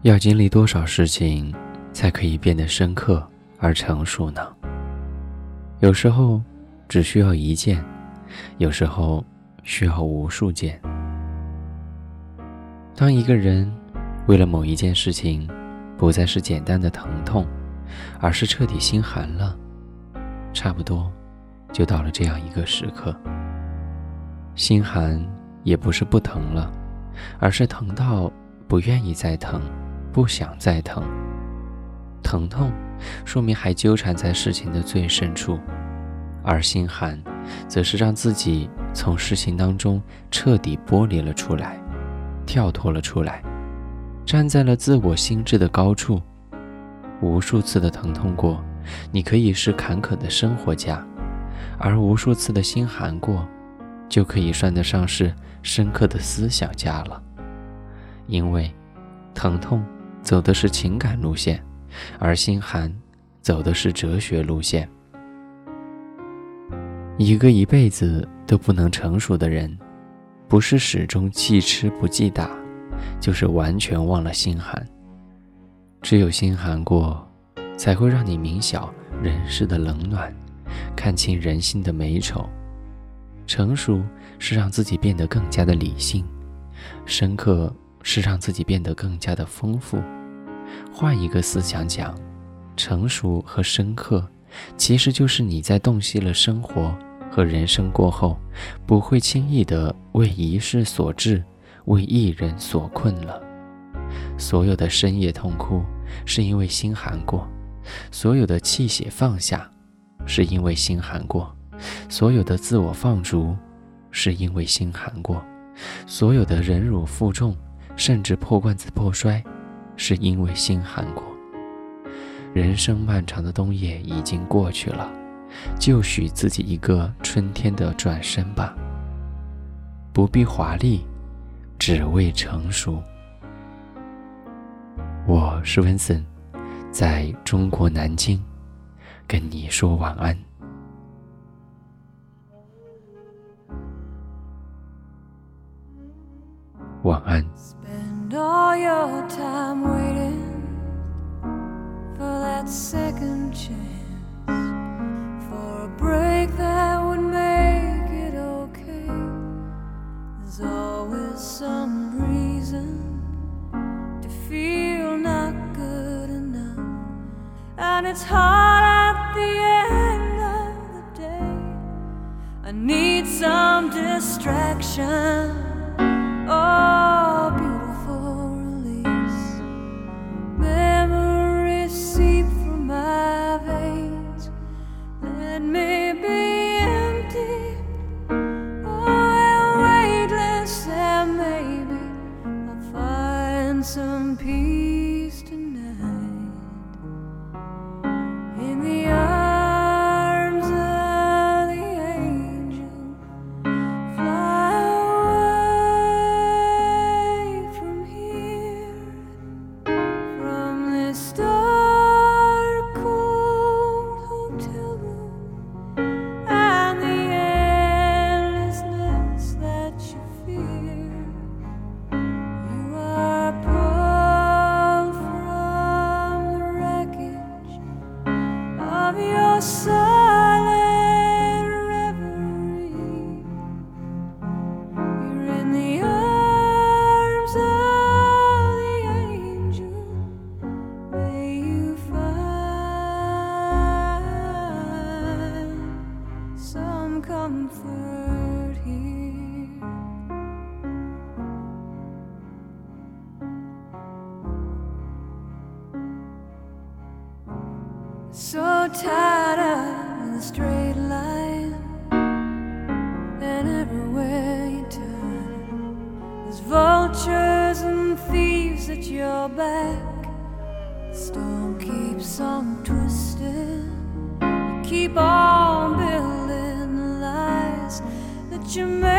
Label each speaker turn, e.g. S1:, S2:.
S1: 要经历多少事情才可以变得深刻而成熟呢？有时候只需要一件，有时候需要无数件。当一个人为了某一件事情不再是简单的疼痛，而是彻底心寒了，差不多就到了这样一个时刻。心寒也不是不疼了，而是疼到不愿意再疼，不想再疼。疼痛说明还纠缠在事情的最深处，而心寒则是让自己从事情当中彻底剥离了出来，跳脱了出来，站在了自我心智的高处。无数次的疼痛过，你可以是坎坷的生活家，而无数次的心寒过，就可以算得上是深刻的思想家了。因为疼痛走的是情感路线，而心寒走的是哲学路线。一个一辈子都不能成熟的人，不是始终记吃不记打，就是完全忘了心寒。只有心寒过，才会让你明晓人世的冷暖，看清人心的美丑。成熟是让自己变得更加的理性，深刻是让自己变得更加的丰富。换一个思想讲，成熟和深刻其实就是你在洞悉了生活和人生过后，不会轻易地为一事所致，为一人所困了。所有的深夜痛哭是因为心寒过，所有的泣血放下是因为心寒过，所有的自我放逐是因为心寒过，所有的忍辱负重甚至破罐子破摔是因为心寒过。人生漫长的冬夜已经过去了，就许自己一个春天的转身吧，不必华丽，只为成熟。我是温森，在中国南京跟你说晚安。晚安。
S2: Spend all your time waiting for that second chance, for a break that would make it okay. There's always some reason to feel not good enough, and it's hard at the end of the day. I need some distraction. Oh, beautiful release. Memories seep through my veins. Let me be empty. Oh, and weightless, and maybe I'll find some peace tonight. In the arms of the angel, fly dark, cold hotel room, and the endlessness that you fear. You are pulled from the wreckage of your silent reverie. You're in the arms of the angel. May you find some comfort here. So tired of the straight line, and everywhere you turn, there's vultures and thieves at your back. Storm keeps on twisting. You keep on building the lies that you made.